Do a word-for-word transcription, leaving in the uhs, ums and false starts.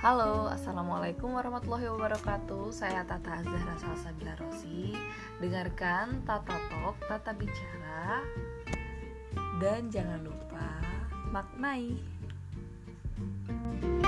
Halo, Assalamualaikum warahmatullahi wabarakatuh. Saya Tata Zahra Salsabila Rosi. Dengarkan Tata Talk, Tata Bicara. Dan jangan lupa maknai.